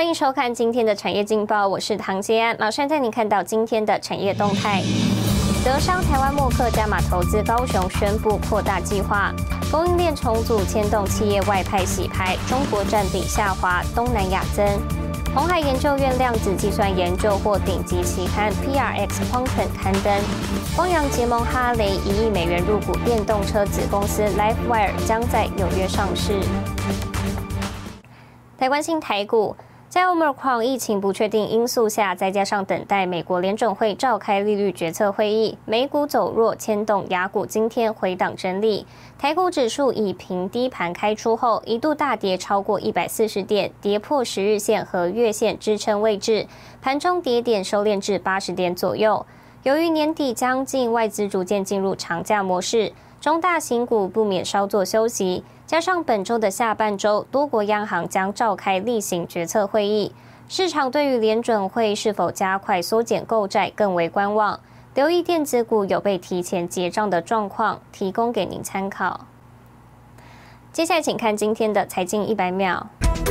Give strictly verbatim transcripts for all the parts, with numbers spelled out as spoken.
欢迎收看今天的产业劲报，我是唐杰安，马上带您看到今天的产业动态。德商台湾默克加码投资高雄，宣布扩大计划，供应链重组牵动企业外派洗牌，中国占比下滑，东南亚增。鸿海研究院量子计算研究获顶级期刊 P R X Quantum 刊登。光阳结盟哈雷一亿美元入股电动车子公司 LiveWire， 将在纽约上市。来关心台股。在 Omicron 疫情不确定因素下，再加上等待美国联准会召开利率决策会议，美股走弱，牵动亚股今天回档整理。台股指数以平低盘开出后，一度大跌超过一百四十点，跌破十日线和月线支撑位置，盘中跌点收敛至八十点左右。由于年底将近，外资逐渐进入长假模式，中大型股不免稍作休息。加上本周的下半周，多国央行将召开例行决策会议，市场对于联准会是否加快缩减购债更为观望。留意电子股有被提前结账的状况，提供给您参考。接下来请看今天的财经一百秒。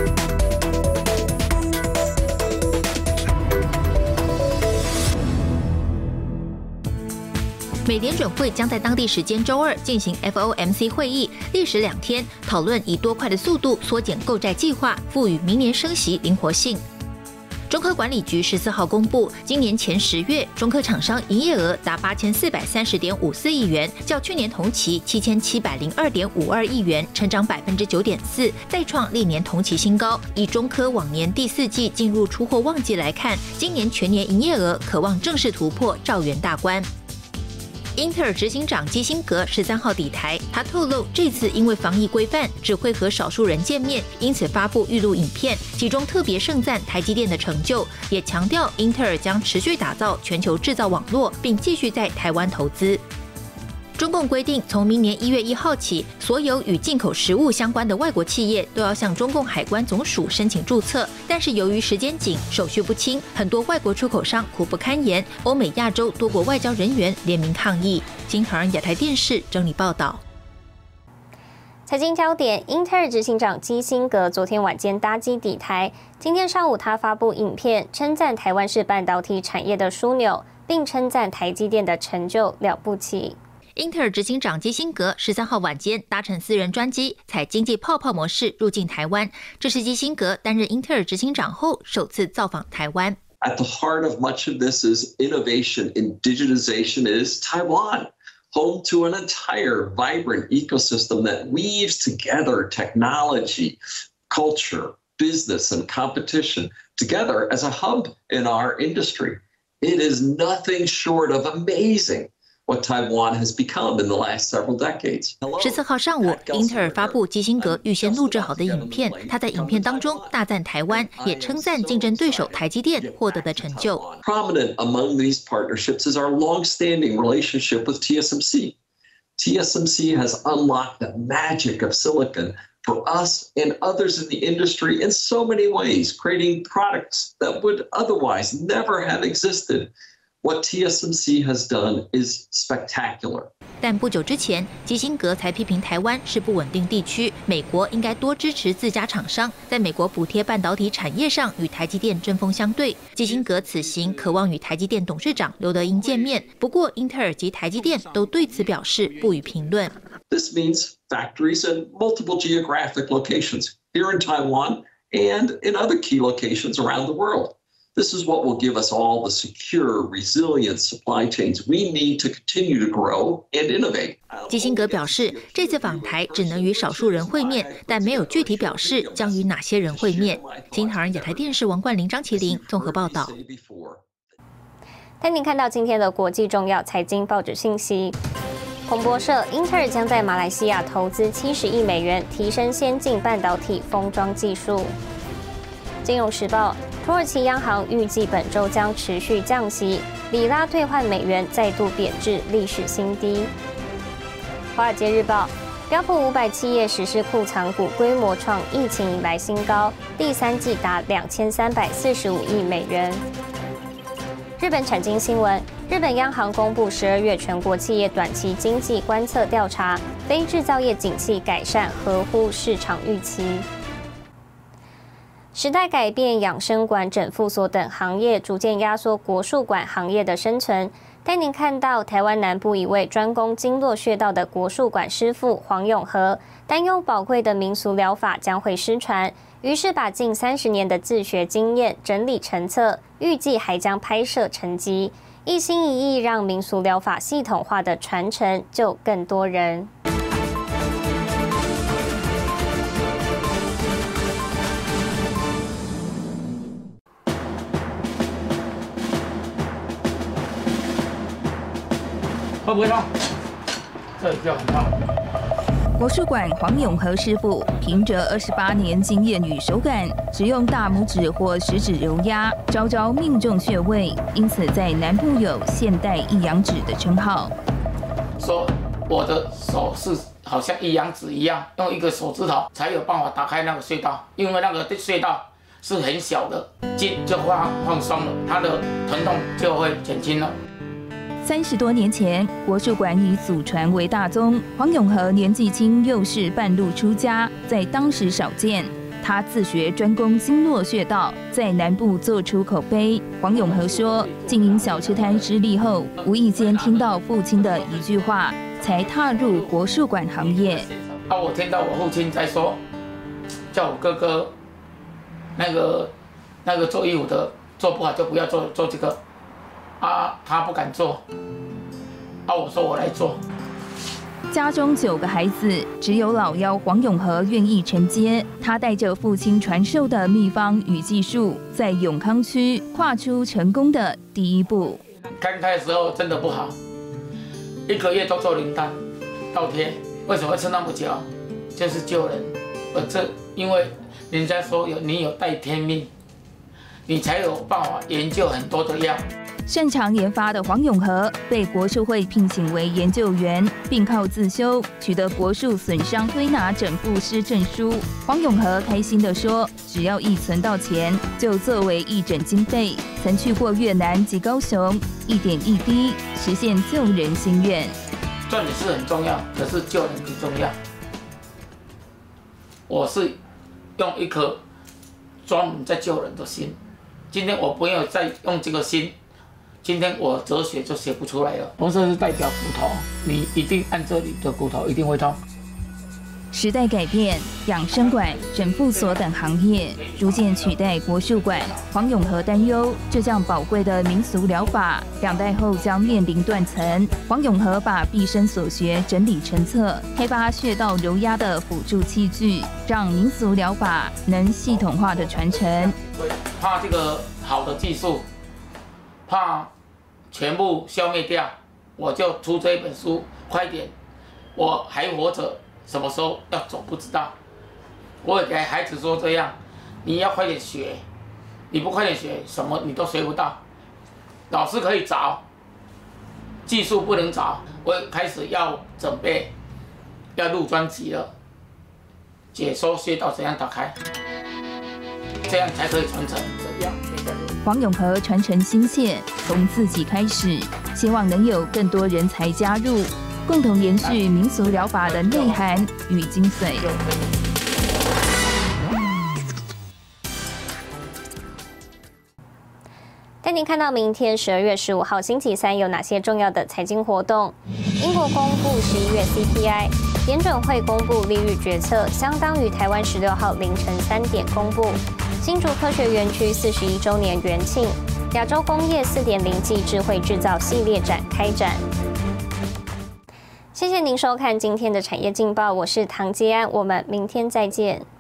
美联准会将在当地时间周二进行 F O M C 会议，历时两天，讨论以多快的速度缩减购债计划，赋予明年升息灵活性。中科管理局十四号公布，今年前十月，中科厂商营业额达八千四百三十点五四亿元，较去年同期七千七百零二点五二亿元，成长百分之九点四，再创历年同期新高。以中科往年第四季进入出货旺季来看，今年全年营业额可望正式突破兆元大关。英特尔执行长基辛格十三号抵台，他透露这次因为防疫规范，只会和少数人见面，因此发布预录影片，其中特别盛赞台积电的成就，也强调英特尔将持续打造全球制造网络，并继续在台湾投资。中共规定，从明年一月一号起，所有与进口食物相关的外国企业都要向中共海关总署申请注册。但是由于时间紧、手续不清，很多外国出口商苦不堪言。欧美、亚洲多国外交人员联名抗议。金航亚太电视整理报道。 财经焦点：英特尔执行长基辛格昨天晚间搭机抵台，今天上午他发布影片，称赞台湾是半导体产业的枢纽，并称赞台积电的成就了不起。 英特尔执行长基辛格十三号晚间搭乘私人专机，采经济泡泡模式入境台湾。这是基辛格担任英特尔执行长后首次造访台湾。 At the heart of much of this is innovation in digitization is Taiwan, home to an entire vibrant ecosystem that weaves together technology, culture, business, and competition together as a hub in our industry. It is nothing short of amazing.What Taiwan has become in the last several decades. 十四号上午，英特尔发布基辛格预先录制好的影片。他在影片当中大赞台湾，也称赞竞争对手台积电获得的成就。 Prominent among these partnerships is our long-standing relationship with T S M C. T S M C has unlocked the magic of silicon for us and others in the industry in so many ways, creating products that would otherwise never have existed.What T S M C has done is spectacular. 但不久之前，基辛格才批评台湾是不稳定地区，美国应该多支持自家厂商，在美国补贴半导体产业上与台积电针锋相对。基辛格此行渴望与台积电董事长刘德音见面，不过英特尔及台积电都对此表示不予评论。 This means factories in multiple geographic locations here in Taiwan and in other key locations around the world.This is what will give us all the secure, resilient supply chains we need to continue to grow and innovate. 基辛格表示，这次访台只能与少数人会面，但没有具体表示将与哪些人会面。金航亚太电视王冠霖、张麒麟综合报道。 带您看到今天的国际重要财经报纸信息。彭博社，英特尔将在马来西亚投资七十亿美元，提升先进半导体封装技术。金融时报。土耳其央行预计本周将持续降息，里拉兑换美元再度贬至历史新低。华尔街日报，标普五百企业实施库藏股规模创疫情以来新高，第三季达两千三百四十五亿美元。日本产经新闻，日本央行公布十二月全国企业短期经济观测调查，非制造业景气改善，合乎市场预期。 时代改变，养生馆、整复所等行业逐渐压缩国术馆行业的生存。带您看到台湾南部一位专攻经络穴道的国术馆师傅黄永和，担忧宝贵的民俗疗法将会失传，于是把近三十年的自学经验整理成册，预计还将拍摄成集，一心一意让民俗疗法系统化的传承就更多人。 会不会痛？这里就很痛。 国术馆黄永和师傅凭着二十八年经验与手感，只用大拇指或食指揉压，招招命中穴位，因此在南部有现代一阳指的称号。 说我的手是好像一阳指一样，用一个手指头才有办法打开那个穴道，因为那个穴道是很小的，筋就放放松了，它的疼痛就会减轻了。 三十多年前，国术馆以祖传为大宗。黄永和年纪轻，又是半路出家，在当时少见。他自学专攻经络穴道，在南部做出口碑。黄永和说，经营小吃摊失利后，无意间听到父亲的一句话，才踏入国术馆行业。 啊，我听到我父亲在说，叫我哥哥，那个那个做衣服的做不好就不要做做这个。啊，他不敢做，啊，我说我来做。 家中九个孩子，只有老幺黄永和愿意承接。他带着父亲传授的秘方与技术，在永康区跨出成功的第一步。 刚开的时候真的不好，一个月都做零单，倒贴。为什么会吃那么久？就是救人。我这因为人家说有你有带天命，你才有办法研究很多的药。 擅长研发的黄永和被国术会聘请为研究员，并靠自修取得国术损伤推拿整复师证书。黄永和开心地说：“只要一存到钱，就作为义诊经费。曾去过越南及高雄，一点一滴实现救人心愿。 赚钱是很重要，可是救人更重要。我是用一颗专门在救人的心，今天我不要再用这个心。”今天我哲学就写不出来了。红色是代表骨头，你一定按这里的骨头一定会痛。 时代改变，养生馆、整复所等行业逐渐取代国术馆。黄永和担忧，这项宝贵的民俗疗法，两代后将面临断层。黄永和把毕生所学整理成册，开发穴道揉压的辅助器具，让民俗疗法能系统化的传承。 怕这个好的技术。怕全部消灭掉，我就出这一本书，快点！我还活着，什么时候要走不知道。我也给孩子说这样，你要快点学，你不快点学，什么你都学不到。老师可以找，技术不能找。我开始要准备，要录专辑了，解说穴道怎样打开，这样才可以传承。怎样？ 黄永和传承心切，从自己开始，希望能有更多人才加入，共同延续民俗疗法的内涵与精髓。 带您看到明天十二月十五号星期三有哪些重要的财经活动？英国公布十一月 C P I， 联准会公布利率决策，相当于台湾十六号凌晨三点公布。新竹科学园区四十一周年元庆，亚洲工业 四点零 暨智慧制造系列展开展。谢谢您收看今天的产业劲报，我是唐吉安，我们明天再见。